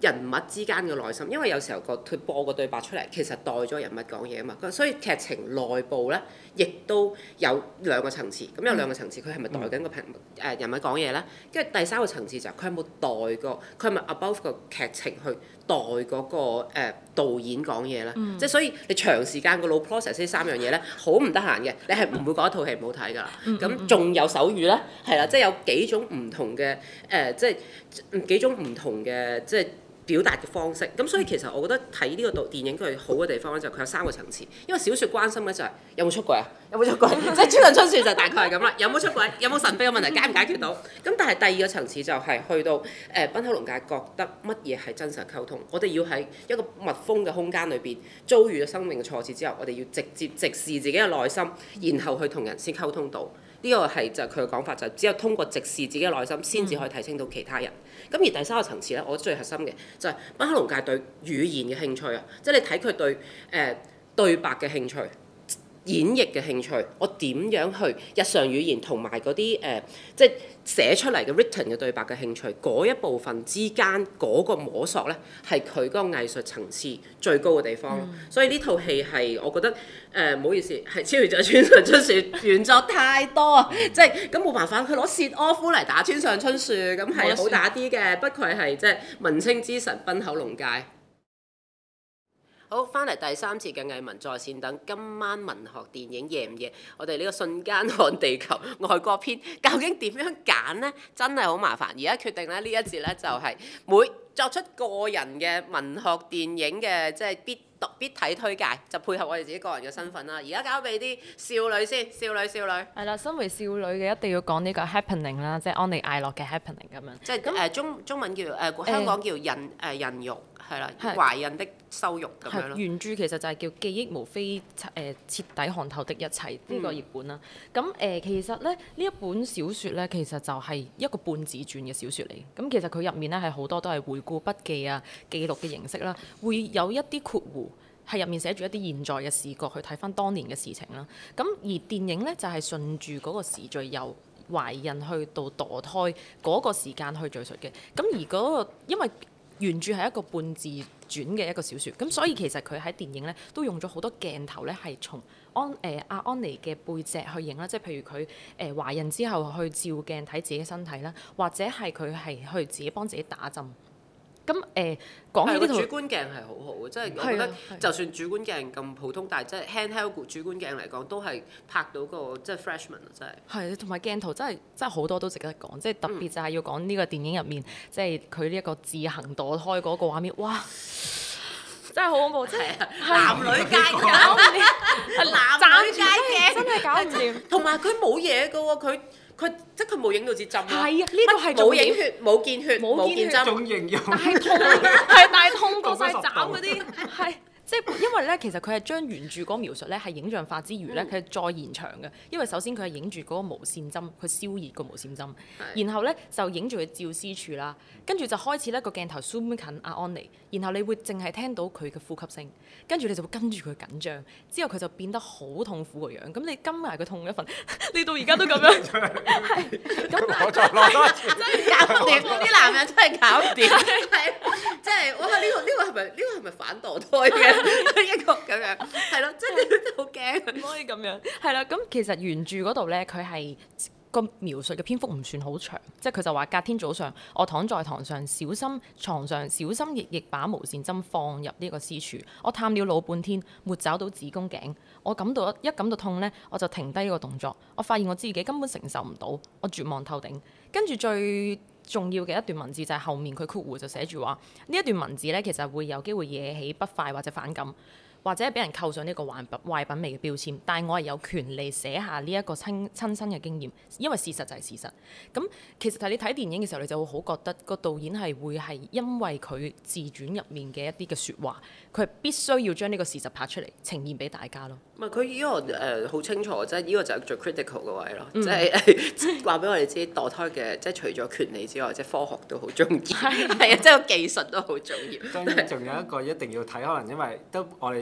人物之間嘅內心，因為有時候個佢播個對白出嚟，其實代咗人物講嘢啊嘛，所以劇情內部咧，亦都有兩個層次。咁有兩個層次，佢係咪代緊個平誒人物講嘢咧？跟住第三個層次就係佢有冇代過，佢係咪 above 個劇情去代嗰、那個誒、呃、導演講嘢咧？嗯、即係所以你長時間個腦 process 呢三樣嘢咧，好唔得閒嘅，你係唔會覺得套戲唔好睇㗎啦。咁仲、嗯、有手語咧，係啦，即係有幾種唔同嘅誒、呃，即係幾種唔同嘅即係。表達嘅方式，咁所以其實我覺得睇呢個導電影佢好嘅地方咧，就係佢有三個層次。因為小説關心咧就係有冇出軌啊，有冇出軌，即係《村上春樹》就大概係咁啦。有冇出軌，有冇神秘嘅問題解唔解決到？咁但係第二個層次就係去到誒濱口龍介覺得乜嘢係真實溝通。我哋要喺一個密封嘅空間裏邊遭遇咗生命嘅挫折之後，我哋要直接直視自己嘅內心，然後去同人先溝通到。呢個係就係佢嘅講法，就係只有通過直視自己嘅內心，先至可以睇清到其他人。咁、嗯、而第三個層次咧，我覺得最核心嘅就係濱口龍介對語言嘅興趣啊，即係你睇佢對誒、呃、對白嘅興趣、演繹嘅興趣，我點樣去日常語言同埋嗰啲誒即係寫出嚟嘅 written 嘅對白嘅興趣，嗰一部分之間嗰個摸索咧，係佢嗰個藝術層次最高嘅地方。嗯、所以呢套戲係我覺得。誒唔好意思，係超越咗村上春樹原作太多啊！即係咁冇辦法，佢攞薛柯夫嚟打村上春樹，咁係好打啲嘅。不愧係即係文青之神濱口龍介。好，翻嚟第三節嘅藝文在線等，今晚文學電影夜唔夜？我哋呢個瞬間看地球外國篇，究竟點樣揀呢？真係好麻煩。而家決定咧呢一節咧就係每作出個人嘅文學電影嘅即係必讀必睇推介，就配合我哋自己個人嘅身份啦。而家交俾啲少女先，少女少女。係啦，身為少女嘅一定要講呢個 happening 啦，即係安妮艾洛嘅 happening 咁樣。 即係誒中中文叫誒、呃、香港叫孕誒、呃、孕育係啦，懷孕的羞辱咁樣咯。 原著其實就係叫記憶無非誒、呃、徹底看透的一切呢、嗯、個譯本啦。咁誒、呃、其實咧呢一本小説咧其實就係一個半自傳嘅小説嚟。咁其實佢入面咧係好多都係回顧筆記啊、記錄嘅形式啦，會有一啲括弧。係入面寫住一啲現在嘅視角去睇翻當年嘅事情啦。咁而電影呢，就係、是、順住嗰個時序由懷孕去到墮胎嗰個時間去敘述嘅。咁而嗰、那個因為原著係一個半自傳嘅一個小説，咁所以其實佢喺電影呢都用咗好多鏡頭呢係從安誒阿、呃、安妮嘅背脊去影啦，即係譬如佢誒、呃、懷孕之後去照鏡睇自己身體啦，或者係佢係去自己幫自己打針。咁誒講起呢套主觀鏡係好好嘅，即係我覺得就算主觀鏡咁普通，但係即係 handheld 主觀鏡嚟講，都係拍到個即係 freshman 啊，真係。係， 同埋鏡頭真係真係好多都值得講，即係特別就係要講呢個電影入面，即係佢呢一個自行墮胎嗰個畫面，哇！真係好恐怖，真係男女界搞唔掂，係男女界嘅真係搞唔掂。 同埋佢冇嘢㗎喎，佢。佢即係佢冇影到支針咯， 係啊，呢個係冇影血、冇見血、冇見針， 種形容但係痛，係但係痛過晒斬嗰啲，係即係因為咧，其實佢係將原著嗰個描述咧係影像化之餘咧，佢係、嗯、再延長嘅。因為首先佢係影住嗰個無線針，佢燒熱個無線針，是然後咧就影住佢照絲處啦，跟住就開始咧個鏡頭 zoom 近阿安妮，然後你會淨係聽到佢嘅呼吸聲，跟住你就會跟住佢緊張，之後佢就變得好痛苦個樣。咁你跟埋佢痛一份，你到而家都咁樣，係咁我再攞多次， 真係搞唔掂，啲男人真係搞唔掂，係即係我話呢個呢、呢個係咪呢個係咪反墮胎嘅？一個咁樣，係咯，真係好驚， 唔可以咁樣。係啦，咁其實原著嗰度咧，佢係個描述嘅篇幅唔算好長，即係佢就話隔天早上，我躺在床上，小心床上小心翼翼把無線針放入呢個絲處，我探了老半天，沒找到子宮頸，我感到一感到痛咧，我就停低呢個動作，我發現我自己根本承受唔到，我絕望透頂。跟住最重要嘅一段文字就係後面佢括弧就寫住話，呢一段文字咧其實會有機會惹起不快或者反感，或者俾人扣上呢個壞品壞品味嘅標籤，但係我係有權利寫下呢一個親親身嘅經驗，因為事實就係事實。咁其實係你睇電影嘅時候，你就會好覺得個導演係會係因為佢自傳入面嘅一啲嘅説話，佢係必須要將呢個事實拍出嚟呈現俾大家咯。 唔係佢呢個誒好、呃、清楚，即係呢個就係最 critical 嘅位咯，即係話俾我哋知墮胎嘅，即係除咗權利之外，即係科學都好重要，係啊，即係個技術都好重要。 當然仲有一個一定要睇，可能因為都我哋。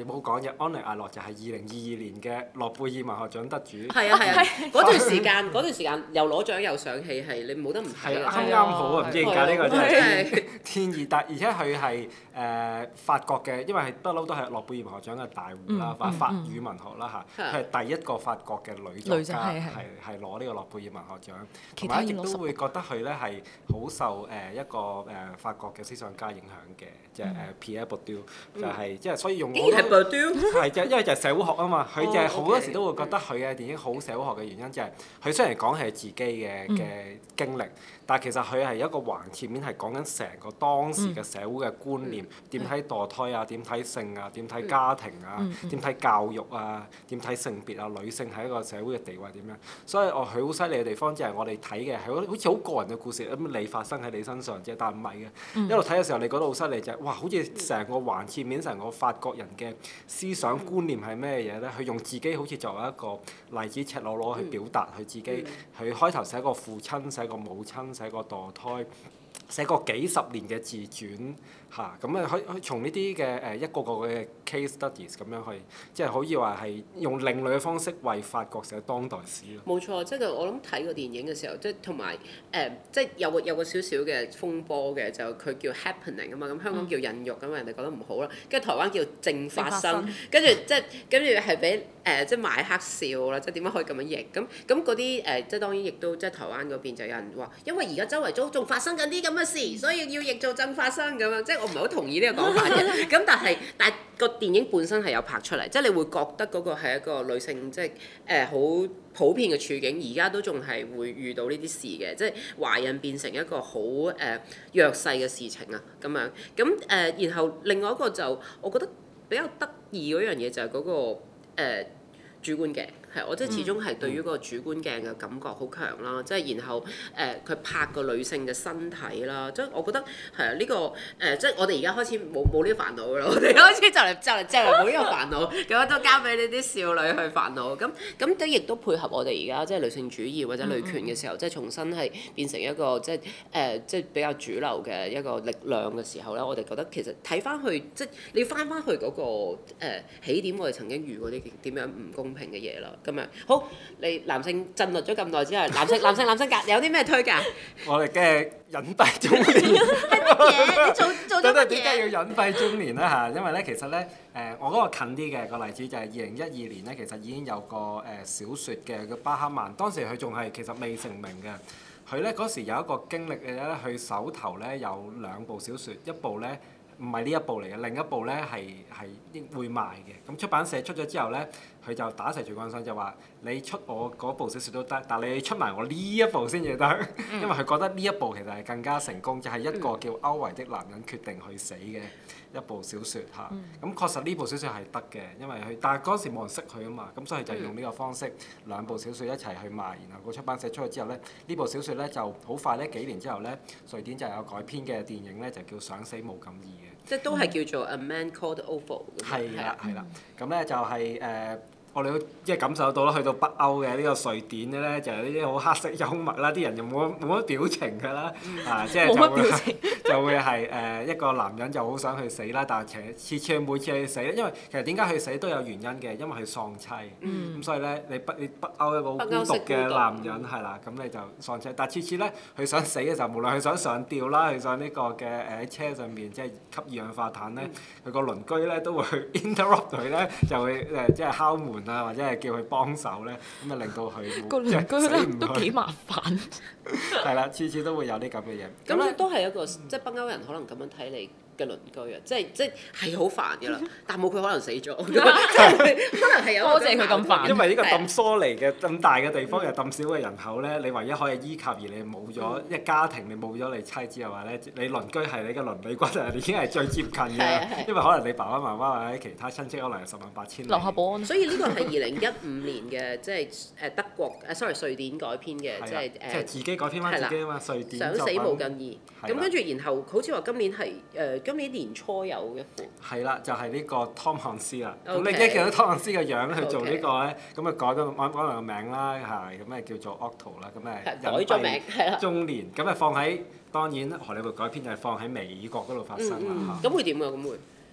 冇講嘅，安妮亞洛就係二零二二年嘅諾貝爾文學獎得主。 係啊係啊，嗰段時間嗰段時間又攞獎又上戲，係你冇得唔睇係嘅。 啱啱好啊！唔知點解呢個真係係天天意，但而且佢係誒法國嘅，因為係不嬲都係諾貝爾文學獎嘅大戶啦，或法語文學啦嚇，佢係第一個法國嘅女作家，係係攞呢個諾貝爾文學獎，同埋一直都會覺得佢咧係好受誒一個誒法國嘅思想家影響嘅，即係誒 Pierre Bourdieu，就係即係所以用竟然係 Bourdieu， 係就因為就係社會學啊嘛，佢就係好多時都會覺得佢嘅電影好社會學嘅原因就係佢雖然講係自己嘅嘅經歷。但係其實佢係一個橫切面，係講緊成個當時嘅社會嘅觀念，點睇、嗯、墮胎啊，點睇性啊，點睇家庭啊，點睇、嗯、教育啊，點睇性別啊，女性喺一個社會嘅地位點樣？所以我佢好犀利嘅地方就係我哋睇嘅係好似好個人嘅故事，咁你發生喺你身上啫，但唔係嘅。嗯、一路睇嘅時候，你覺得好犀利就係、是、哇，好似成個橫切面，成個法國人嘅思想觀念係咩嘢咧？佢用自己好似作為一個例子，赤裸裸去表達佢自己。佢開頭寫個父親，寫個母親。寫個墮胎，寫過幾十年嘅自傳嚇，咁啊可可從呢啲嘅誒一個個嘅 case studies 咁樣去，即係可以話係用另類嘅方式為法國寫當代史咯。 冇錯，即係我諗睇個電影嘅時候，即係同埋誒，即係有個有個少少嘅風波嘅，就佢叫 happening 啊嘛，咁香港叫孕育咁啊，人哋覺得唔好啦，跟住台灣叫正發生，跟住即係跟住係俾誒即係買黑笑啦，即係點解可以咁樣譯？咁咁嗰啲誒，即係當然亦都即係台灣嗰邊就有人話，因為而家周圍都仲發生緊啲咁嘅事，所以要譯做正發生咁樣，即係我唔係好同意呢個講法嘅。咁但係但係個電影本身係有拍出嚟，即係你會覺得嗰個係一個女性即係誒好普遍嘅處境，而家都仲係會遇到呢啲事嘅，即係懷孕變成一個好誒、呃、弱勢嘅事情啊咁樣。咁誒、呃，然後另外一個就我覺得比較得意嗰樣嘢就係嗰、嗰個、呃、主觀鏡。係，我即係始終係對於嗰個主觀鏡嘅感覺好強啦，即係然後誒佢、呃、拍個女性嘅身體啦，即係我覺得係啊呢個誒、呃、即係我哋而家開始冇冇呢個煩惱㗎啦，我哋開始就嚟就嚟就嚟冇呢個煩惱，咁都交俾呢啲少女去煩惱，咁咁都亦都配合我哋而家即係女性主義或者女權嘅時候，即係重新係變成一個即係誒、呃、即係比較主流嘅一個力量嘅時候咧，我哋覺得其實睇翻去即係你要翻翻去嗰、嗰個、呃、起點，我哋曾經遇過啲點樣唔公平嘅嘢啦。咁樣好，你男性震略咗咁耐之後，男性男性男性格有啲咩推介？ 我哋嘅隱蔽中年係乜嘢？你做做咗乜嘢？ 點解要隱蔽中年咧嚇？因為咧其實咧誒、呃，我嗰個近啲嘅個例子就係二零一二年咧，其實已經有個誒、呃、小説嘅叫巴克曼，當時佢仲係其實未成名嘅。佢咧嗰時有一個經歷嘅咧，佢手頭咧有兩部小説，一部咧唔係呢一部嚟嘅，另一部咧係係應會賣嘅。咁出版社出咗之後咧，佢就打成住關心，就話你出我嗰部小説都得，但係你出埋我呢一部先至得，嗯、因為佢覺得呢一部其實係更加成功，就係、是、一個叫歐維的男人決定去死嘅一部小説嚇。咁、嗯、確實呢部小説係得嘅，因為佢但係嗰時冇人識佢啊嘛，咁所以就用呢個方式、嗯、兩部小説一齊去賣，然後個出版社出去之後咧，呢部小説咧就好快咧幾年之後咧，瑞典就有改編嘅電影咧就叫想死冇咁易嘅。 即係都係叫做 A Man Called Ove。 係啦，係啦。咁咧就係、是、誒、呃，我哋都即係感受到啦，去到北歐嘅呢個瑞典嘅咧，就係呢啲好黑色幽默啦，啲人又冇冇乜表情㗎啦，啊，即係就會就會係誒、呃、一個男人就好想去死啦，但係次次每次去死咧，因為其實點解去死都有原因嘅，因為佢喪妻，咁、嗯、所以咧你北你北歐一個好孤獨嘅男人係啦，咁你就喪妻，但係次次咧佢想死嘅時候，無論佢想上吊啦，佢想呢個嘅誒喺車上面即係吸二氧化碳咧，佢個、嗯、鄰居咧都會去 interrupt 佢咧，就會誒即係敲門啊，或者係叫佢幫手咧，咁啊令到佢個鄰居咧都幾麻煩。 係啦，次次都會有啲咁嘅嘢。 咁咧都係一個即係北歐人可能咁樣睇你嘅鄰居啊，即係即係係好煩㗎啦，但冇佢可能死咗，可能係有多謝佢咁煩。 因為呢個咁疏離嘅咁大嘅地方又咁少嘅人口咧，你唯一可以依靠而你冇咗一家庭，你冇咗你妻子嘅話咧，你鄰居係你嘅鄰里骨啊，已經係最接近嘅，因為可能你爸爸媽媽或者其他親戚可能係十萬八千里。 樓下保安。所以呢個係二零一五年嘅，即係誒德國誒 sorry 瑞典改編嘅，即係誒。 即係自己改編翻自己啊嘛，瑞典想死無更易。咁跟住然後好似話今年係誒今年年初有一部。係啦，就係呢個湯漢斯啦。咁你一見到湯漢斯嘅樣去做呢個咧，咁啊改咗改改埋個名啦，係咁啊叫做 Otto 啦，咁啊改咗名係啦。 中年咁啊放喺當然荷里活改編就係放喺美國嗰度發生啦嚇。 咁會點啊？咁會？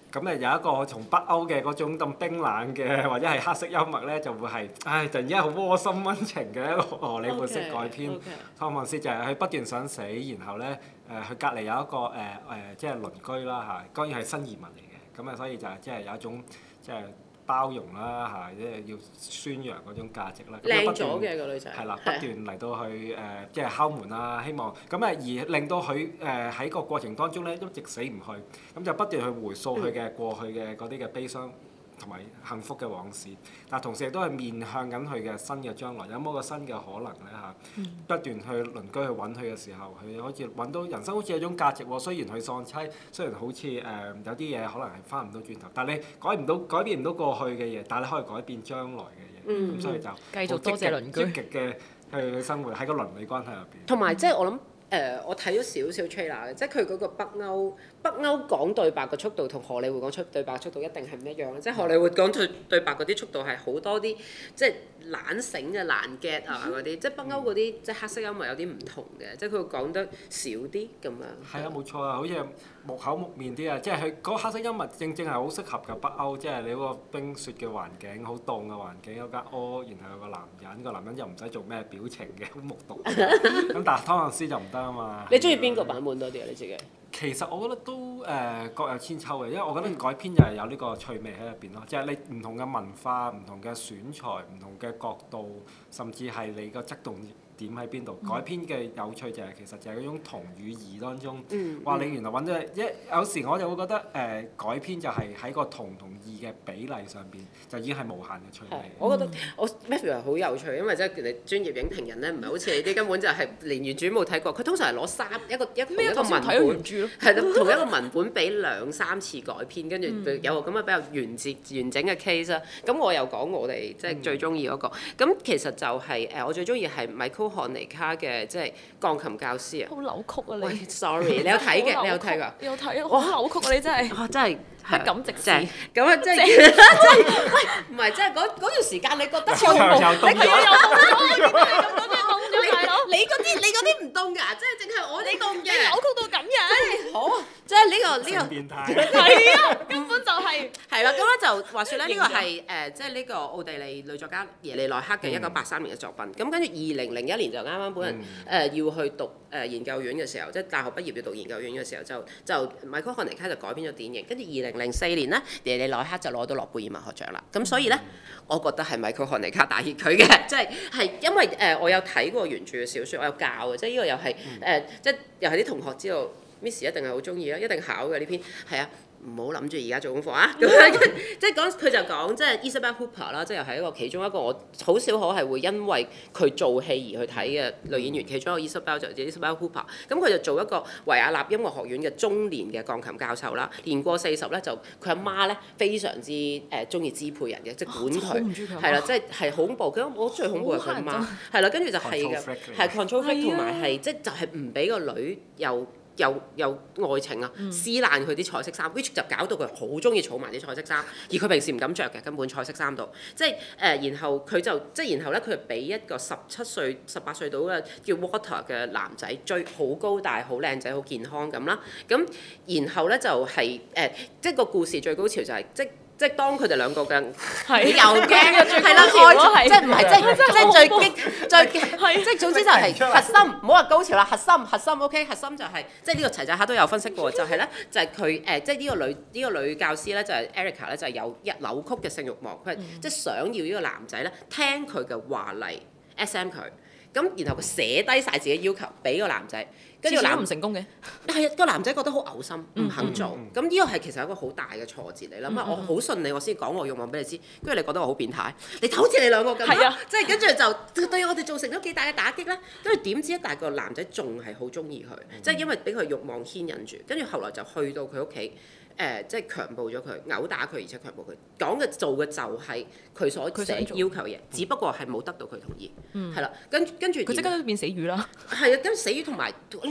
咁誒有一個從北歐嘅嗰種咁冰冷嘅或者係黑色幽默咧，就會係唉突然之間好窩心溫情嘅一個荷里活式改編。 Okay, okay. 湯姆斯就係佢不斷想死，然後咧誒佢隔離有一個誒誒、呃、即係鄰居啦嚇，當然係新移民嚟嘅，咁啊所以就係即係有一種即係包容啦嚇，即係要宣揚嗰種價值啦。 靚咗嘅個女仔。 係啦，不斷嚟到去誒即係敲門啦，希望咁誒而令到佢誒喺個過程當中咧一直死唔去，咁就不斷去回溯佢嘅過去嘅嗰啲嘅悲傷同埋幸福嘅往事，但同時亦都係面向緊佢嘅新嘅將來，有冇個新嘅可能咧嚇？嗯、不斷去鄰居去揾佢嘅時候，佢好似揾到人生好似有種價值喎。雖然佢喪妻，雖然好似誒、呃、有啲嘢可能係翻唔到轉頭，但係你改唔到改變唔到過去嘅嘢，但係你可以改變將來嘅嘢，咁、嗯、所以就繼續多謝鄰居， 積極嘅去生活喺個鄰里關係入邊。 同埋即係我諗。誒、呃，我睇咗少少 trailer 嘅，即係佢嗰個北歐北歐講對白嘅速度同荷里活講出對白嘅速度一定係唔一樣嘅，即係荷里活講對對白嗰啲速度係好多啲，即係懶醒嘅難 get 啊嗰啲，即係北歐嗰啲即係黑色幽默有啲唔同嘅，即係佢會講得少啲咁樣。係啊，冇錯啊，好似木口木面啲啊，即係佢嗰個黑色幽默正正係好適合嘅北歐，即係你嗰個冰雪嘅環境，好凍嘅環境，有間屋，然後有個男人，個男人又唔使做咩表情嘅，好木獨。咁但係湯姆斯就唔得啊嘛。 你中意邊個版本多啲啊？你自己？ 其實我覺得都誒、呃、各有千秋嘅，因為我覺得改編就係有呢個趣味喺入邊咯，即係你唔同嘅文化、唔同嘅選材、唔同嘅角度，甚至係你個側重點喺邊度。嗯、改編嘅有趣就係、是、其實就係嗰種同與異當中，話、嗯、你原來揾咗一有時我就會覺得誒、呃、改編就係喺個同同異嘅比例上邊就已經係無限嘅趣味。 我覺得我 Matthew 係好有趣，因為即係你專業影評人咧，唔係好似你啲根本就係連原著冇睇過，佢通常係攞三一個一個一個文本。係咯，同一個文本俾兩三次改編，跟住有個咁嘅比較完整完整嘅 case 啦。咁我又講我哋即係最中意嗰個。咁其實就係誒，我最中意係米高漢尼卡嘅即係鋼琴教師啊。 好扭曲啊你！ 喂，sorry，你有睇嘅？你有睇㗎？ 有睇啊！好扭曲啊你真係。 哇！真係不敢直視。 咁啊，即係即係喂，唔係即係嗰嗰段時間，你覺得超凍？你係啊！你嗰啲你嗰啲唔凍㗎，即係淨係我呢凍嘅。 扭曲到咁樣。 好，即係呢個呢個。 變態。 係啊，根本就係。 係啦，咁咧就話説咧，呢個係誒，即係呢個奧地利女作家耶利內克嘅一九八三年嘅作品。咁跟住二零零一年就啱啱本人誒要去讀誒研究院嘅時候，即係大學畢業要讀研究院嘅時候，就就米高漢尼卡就改編咗電影。跟住二零零四年咧，耶利內克就攞到諾貝爾文學獎啦。咁所以咧，我覺得係米高漢尼卡大熱佢嘅，即係係因為誒我有睇過原著嘅小説，我有教嘅，即係呢個又係誒，即係又係啲同學知道 Miss 一定係好中意啦，一定考嘅呢篇，係啊。唔好諗住而家做功課啊！咁樣即係講佢就講即係 Isabelle Huppert 啦，即係又係一個其中一個我好少可係會因為佢做戲而去睇嘅女演員。其中一個 Isabelle 就係 Isabelle Huppert，咁佢就做一個維也納音樂學院嘅中年嘅鋼琴教授啦。年過四十咧，就佢阿媽咧非常之誒中意支配人嘅，即係管佢係啦，即係係恐怖。咁我最恐怖係佢阿媽係啦，跟住就係嘅，係 control freak 同埋係即係就係唔俾個女又。有有愛情啊，撕爛佢啲彩色衫 which 就搞到佢好中意儲埋啲彩色衫，而佢平時唔敢着嘅，根本彩色衫度，即係誒、呃，然後佢就即係然後咧，佢就俾一個十七歲、十八歲到嘅叫 Walter 嘅男仔追，好高大、好靚仔、好健康咁啦，咁然後咧就係、是、誒、呃，即係個故事最高潮就係、是、即。即係當佢哋兩個嘅，你又驚係啦，愛即係唔係即係即係最激最激，即係總之就係核心，唔好話高潮啦，核心核心 OK，核心就係即係呢個齊仔客都有分析過，就係咧就係佢誒即係呢個女呢個女教師咧就係 Erica 咧就係有一扭曲嘅性慾望，佢係即係想要呢個男仔咧聽佢嘅話嚟 S M 佢，咁然後佢寫低晒自己要求俾個男仔。跟住個男唔成功嘅，係啊個男仔覺得好嘔心，唔肯做。咁呢個係其實一個好大嘅挫折嚟啦。咁啊、嗯，我好順利，我先講我慾望俾你知。跟住你覺得我好變態，你好似你兩個咁，即係跟住就對我哋造成咗幾大嘅打擊咧。跟住點知一大個男仔仲係好中意佢，即係、嗯、因為俾佢慾望牽引住。跟住後來就去到佢屋企。誒、呃，即係強暴咗佢，毆打佢，而且強暴佢。講嘅做嘅就係佢所寫要求嘅嘢，只不過係冇得到佢同意，係啦、嗯。跟跟住佢即刻都變死魚啦。係啊，跟住死魚同埋你諗下，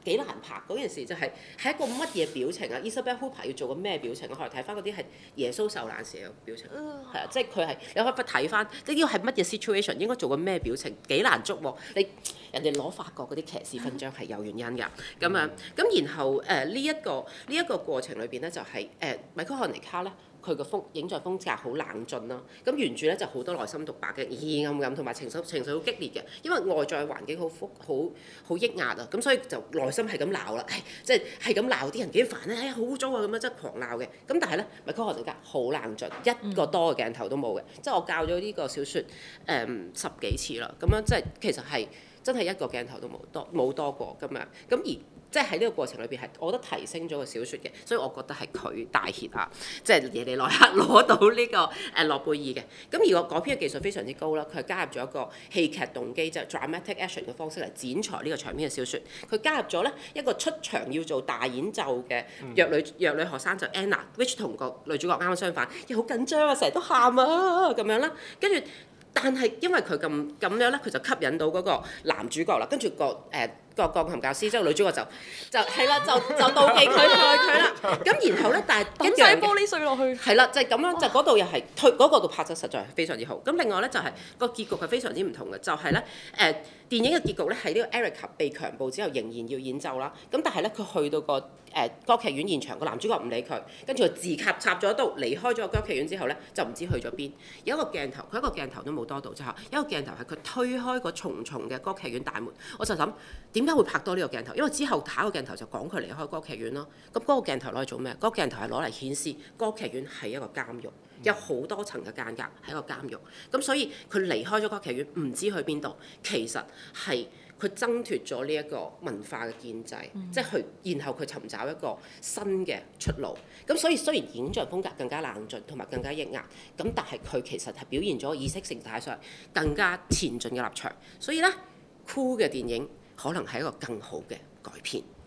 幾難拍嗰件事，就係係一個乜嘢表情啊 ？Isabelle Huppert 要做個咩表情啊？我哋睇翻嗰啲係耶穌受難時嘅表情，係啊，即係佢係你可以睇翻呢個係乜嘢 situation，應該做個咩表情，幾難捉喎？你人哋攞法國嗰啲騎士勳章係有原因㗎，咁樣咁然後誒呢一個呢一個過程裏邊咧就係誒米高漢尼卡咧。佢個風影像風格好冷峻啦，咁原著咧就好多內心獨白嘅，陰暗暗同埋情緒情緒好激烈嘅，因為外在環境好複好好抑壓啊，咁所以就內心係咁鬧啦，即係係咁鬧啲人幾煩咧，哎呀好污糟啊咁樣，即係狂鬧嘅。咁但係咧，米高漢尼卡好冷峻，一個多嘅鏡頭都冇嘅，即係我教咗呢個小説誒、嗯、十幾次啦，咁樣即係其實係真係一個鏡頭都冇多冇多過咁樣，咁而。即係喺呢個過程裏邊係，我覺得提升咗個小説嘅，所以我覺得係佢大 hit 啊！即係耶利內克攞到呢個誒諾貝爾嘅。咁而個改編嘅技術非常之高啦，佢係加入咗一個戲劇動機，即係 dramatic action 嘅方式嚟剪裁呢個長篇嘅小説。佢加入咗咧一個出場要做大演奏嘅弱女弱女學生就 Anna，which 同個女主角啱啱相反，又好緊張啊，成日都喊啊咁樣啦，跟住。但係因為佢咁咁樣咧，佢就吸引到嗰個男主角啦，跟住個誒。呃個鋼琴教師，即係女主角就就係啦，就就妒忌佢愛佢啦。咁然後咧，但係抌晒玻璃碎落去。 係啦，就係、是、咁樣，就嗰度又係推嗰個度拍得實在係非常之好。咁另外咧就係、是、個結局係非常之唔同嘅，就係咧誒電影嘅結局咧係呢個 Erica 被強暴之後仍然要演奏啦。咁但係咧佢去到個誒、呃、歌劇院現場，個男主角唔理佢，跟住佢自插插咗刀離開咗個歌劇院之後咧就唔知去咗邊。有一個鏡頭，佢一個鏡頭都冇多到之後，有一個鏡頭係佢推開個重重嘅歌劇院大門，我就諗點解會拍多呢個鏡頭？因為之後下一個鏡頭就講佢離開歌劇院咯。咁嗰個鏡頭攞嚟做咩？嗰個鏡頭係攞嚟顯示歌劇院係一個監獄，有好多層嘅間隔係一個監獄。咁所以佢離開咗歌劇院，唔知去邊度，其實係佢掙脫咗呢一個文化嘅建制，嗯、即係佢，然後佢尋找一個新嘅出路。咁所以雖然影像風格更加冷峻同埋更加抑壓，咁但係佢其實係表現咗意識形態上更加前進嘅立場。所以咧，酷嘅電影可能係一個更好嘅改編。